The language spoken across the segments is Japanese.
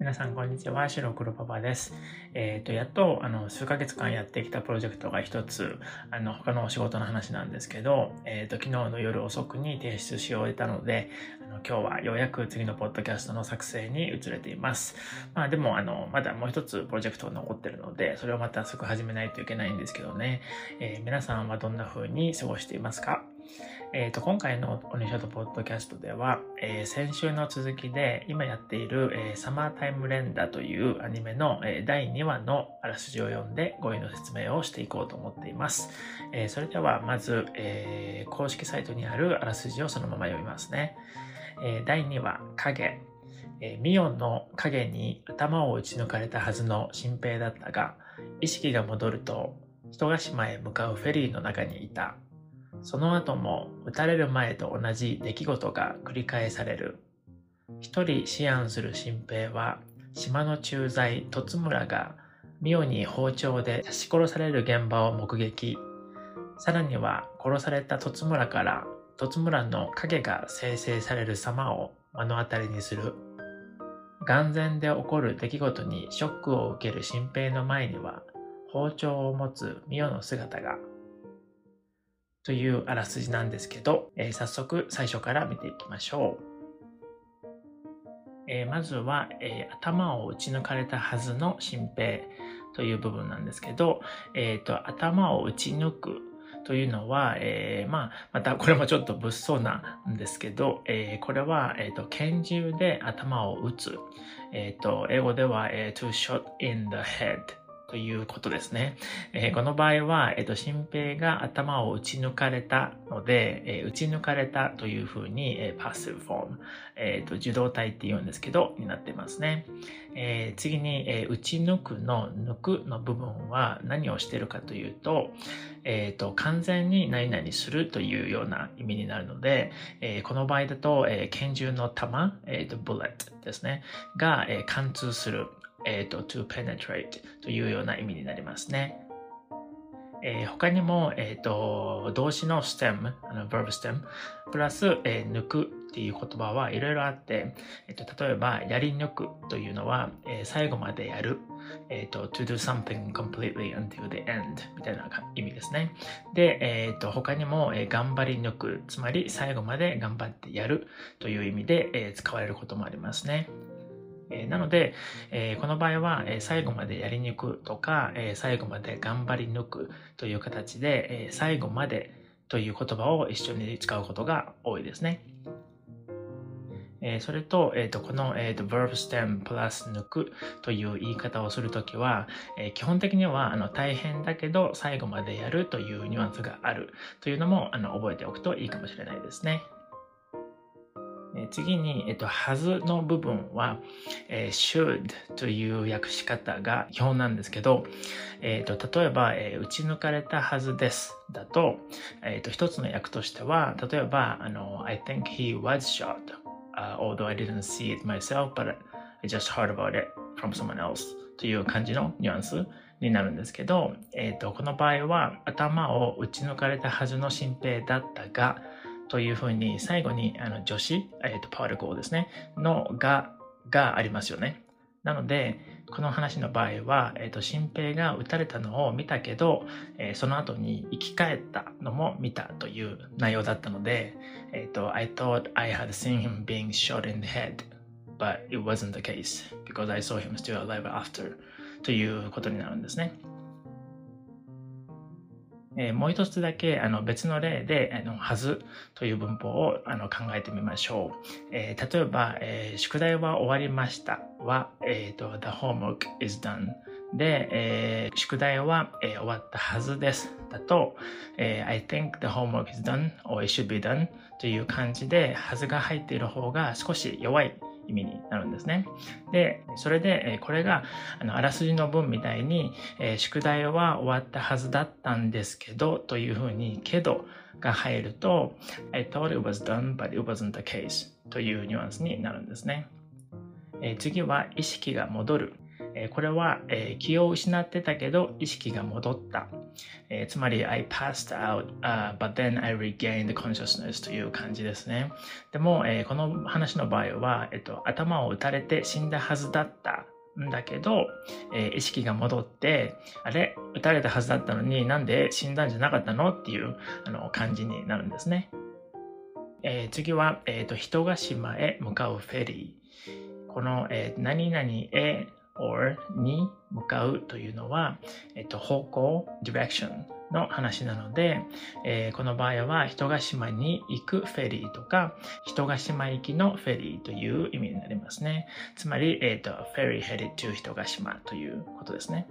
皆さんこんにちは、白黒パパです。やっと数ヶ月間やってきたプロジェクトが一つ他のお仕事の話なんですけど、昨日の夜遅くに提出し終えたので、今日はようやく次のポッドキャストの作成に移れています。でもまだもう一つプロジェクトが残ってるので、それをまたすぐ始めないといけないんですけどね。皆さんはどんな風に過ごしていますか？今回のオニショートポッドキャストでは、先週の続きで今やっている、サマータイム連打というアニメの、第2話のあらすじを読んで語彙の説明をしていこうと思っています。それではまず、公式サイトにあるあらすじをそのまま読みますね。第2話、影。ミオンの影に頭を打ち抜かれたはずの新平だったが、意識が戻ると人ヶ島へ向かうフェリーの中にいた。その後も撃たれる前と同じ出来事が繰り返される。一人思案する新平は、島の駐在突村がミオに包丁で刺し殺される現場を目撃。さらには殺された突村から突村の影が生成される様を目の当たりにする。眼前で起こる出来事にショックを受ける新平の前には包丁を持つミオの姿が。というあらすじなんですけど、早速最初から見ていきましょう。まずは、頭を撃ち抜かれたはずの新平という部分なんですけど、頭を撃ち抜くというのは、またこれもちょっと物騒なんですけど、これは、拳銃で頭を撃つ。英語では、to shot in the headということですね。この場合は、新平が頭を撃ち抜かれたので、撃ち抜かれたというふうに、パッシブフォーム、受動体って言うんですけど、になってますね。次に、撃ち抜くの抜くの部分は何をしているかというと、完全に何々するというような意味になるので、この場合だと、拳銃の弾、bullet ですね、が、貫通する。to penetrate というような意味になりますね。他にも、動詞の stem、verb stem、プラス、抜くっていう言葉はいろいろあって、例えば、やり抜くというのは、最後までやる。to do something completely until the end みたいな意味ですね。で、他にも、頑張り抜く、つまり最後まで頑張ってやるという意味で、使われることもありますね。なので、この場合は、最後までやり抜くとか、最後まで頑張り抜くという形で、最後までという言葉を一緒に使うことが多いですね。それと、この、verb stem プラス抜くという言い方をするときは、基本的には大変だけど最後までやるというニュアンスがあるというのも覚えておくといいかもしれないですね。次に、はずの部分は、should という訳し方が基本なんですけど、例えば、撃ち抜かれたはずですだと、一つの訳としては、例えば、I think he was shot、although I didn't see it myself, but I just heard about it from someone else という感じのニュアンスになるんですけど、この場合は頭を撃ち抜かれたはずの新平だったが、というふうに最後に助詞、パーティクルですね、のがありますよね。なので、この話の場合は、新平が撃たれたのを見たけど、その後に生き返ったのも見たという内容だったので、I thought I had seen him being shot in the head, but it wasn't the case because I saw him still alive after ということになるんですね。もう一つだけ別の例ではずという文法を考えてみましょう。例えば、宿題は終わりましたは、the homework is done で、宿題は終わったはずですだと、I think the homework is done or it should be done という感じではずが入っている方が少し弱い意味になるんですね。で、それで、これがあらすじの文みたいに、宿題は終わったはずだったんですけどというふうにけどが入ると I thought it was done but it wasn't the case というニュアンスになるんですね。次は意識が戻る。 これは、気を失ってたけど意識が戻った。つまり I passed out,、but then I regained consciousness という感じですね。でも、この話の場合は、頭を打たれて死んだはずだったんだけど、意識が戻って、あれ撃たれたはずだったのになんで死んだんじゃなかったのっていう感じになるんですね。次は、人ヶ島へ向かうフェリー。この、何々へ or に向かうというのは、方向 direction の話なので、この場合は人ヶ島に行くフェリーとか人ヶ島行きのフェリーという意味になりますね。つまり、ferry headed to 人ヶ島ということですね。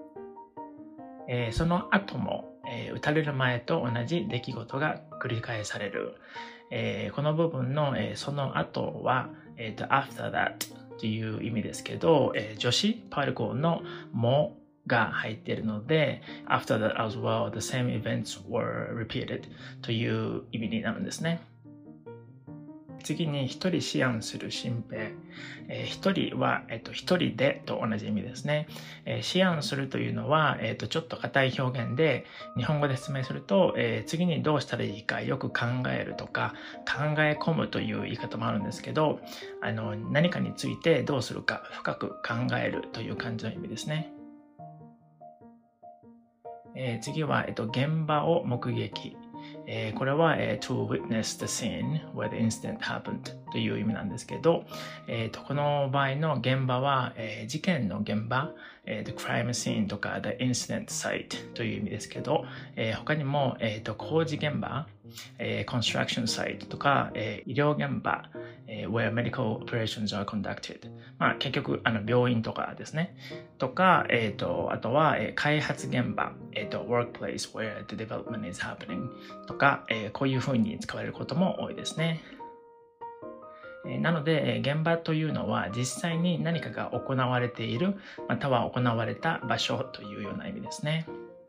その後も、撃たれる前と同じ出来事が繰り返される。この部分の、その後は、after that という意味ですけど、助詞 particle のもが入っているので after that as well the same events were repeated という意味になるんですね。次に一人思案する心平。一人は、一人でと同じ意味ですね。思案するというのは、ちょっと硬い表現で、日本語で説明すると、次にどうしたらいいかよく考えるとか、考え込むという言い方もあるんですけど、何かについてどうするか深く考えるという感じの意味ですね。次は、現場を目撃。これは、to witness the scene where the incident happened という意味なんですけど、この場合の現場は、事件の現場、the crime scene とか the incident site という意味ですけど、他にも、工事現場、construction site とか、医療現場、where medical operations are conducted。結局、病院とかですね。とか、あとは、開発現場、workplace where the development is happening とか、こういうふうに使われることも多いですね。なので、現場というのは実際に何かが行われている、または行われた場所というような意味ですね。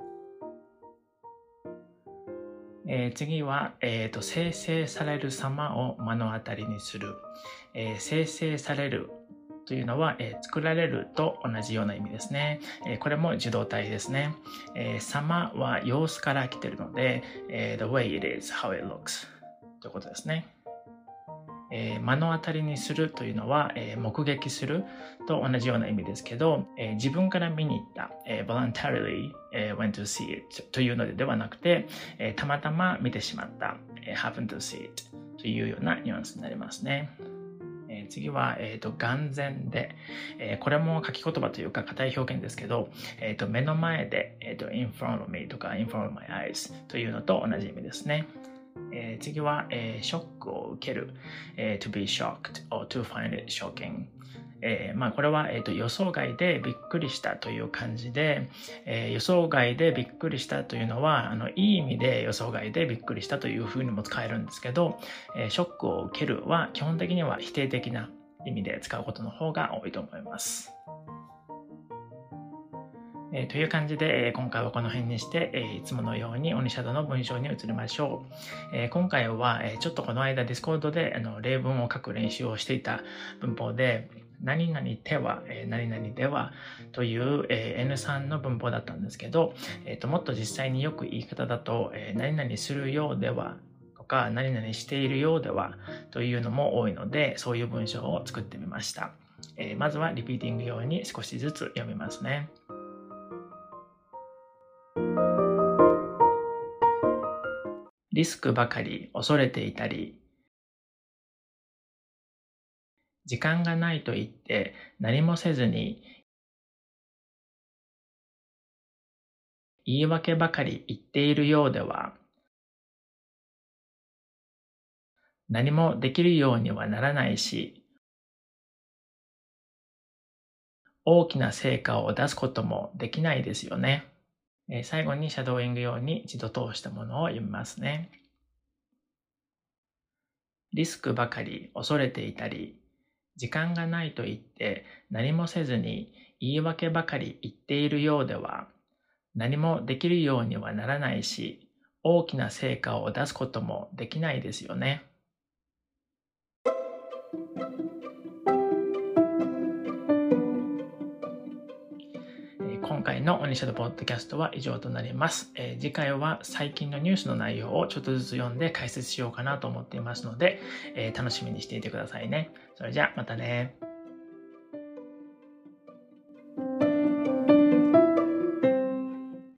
次は、生成される様を目の当たりにする。生成されるというのは、作られると同じような意味ですね。これも受動体ですね。様は様子から来ているので、the way it is, how it looks ということですね。目の当たりにするというのは、目撃すると同じような意味ですけど、自分から見に行った、voluntarily went to see it というのではなくて、たまたま見てしまった、happen to see it というようなニュアンスになりますね。次は、眼前で、これも書き言葉というか硬い表現ですけど、目の前で、in front of me とか in front of my eyes というのと同じ意味ですね。次は、ショックを受ける、to be shocked or to find it shocking。これは、予想外でびっくりしたという感じで、予想外でびっくりしたというのはいい意味で予想外でびっくりしたというふうにも使えるんですけど、ショックを受けるは基本的には否定的な意味で使うことの方が多いと思います。という感じで、今回はこの辺にして、いつものようにオニシャドの文章に移りましょう。今回は、ちょっとこの間 Discord で例文を書く練習をしていた文法で、何々ては、何々ではという、N3 の文法だったんですけど、もっと実際によく言い方だと、何々するようではとか、何々しているようではというのも多いので、そういう文章を作ってみました。まずはリピーティング用に少しずつ読みますね。リスクばかり恐れていたり、時間がないと言って何もせずに言い訳ばかり言っているようでは何もできるようにはならないし、大きな成果を出すこともできないですよね。最後にシャドーイング用に一度通したものを読みますね。リスクばかり恐れていたり、時間がないと言って何もせずに言い訳ばかり言っているようでは何もできるようにはならないし、大きな成果を出すこともできないですよね。 のオニシャルポッドキャストは以上となります。次回は最近のニュースの内容をちょっとずつ読んで解説しようかなと思っていますので、楽しみにしていてくださいね。それじゃあまたね。